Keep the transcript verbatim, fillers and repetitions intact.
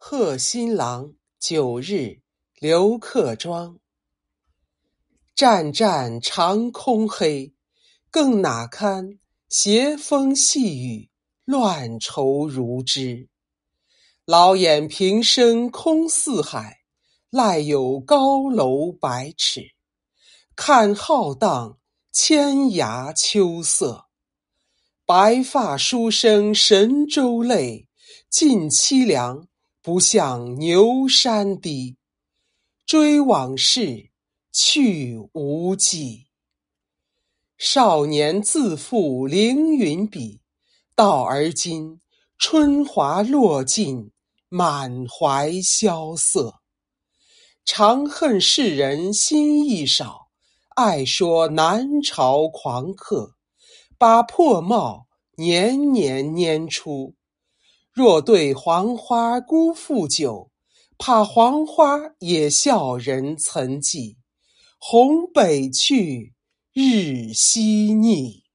贺新郎九日刘克庄。湛湛长空黑，更哪堪斜风细雨，乱愁如织。老眼平生空似海，赖有高楼百尺。看浩荡千涯秋色，白发书生神州泪，尽凄凉不向牛山低。追往事去无迹，少年自负凌云笔，到而今春华落尽，满怀萧瑟。常恨世人心意少，爱说南朝狂客，把破帽年年拈出。若对黄花辜负久，怕黄花也笑人曾记。红北去，日西逆。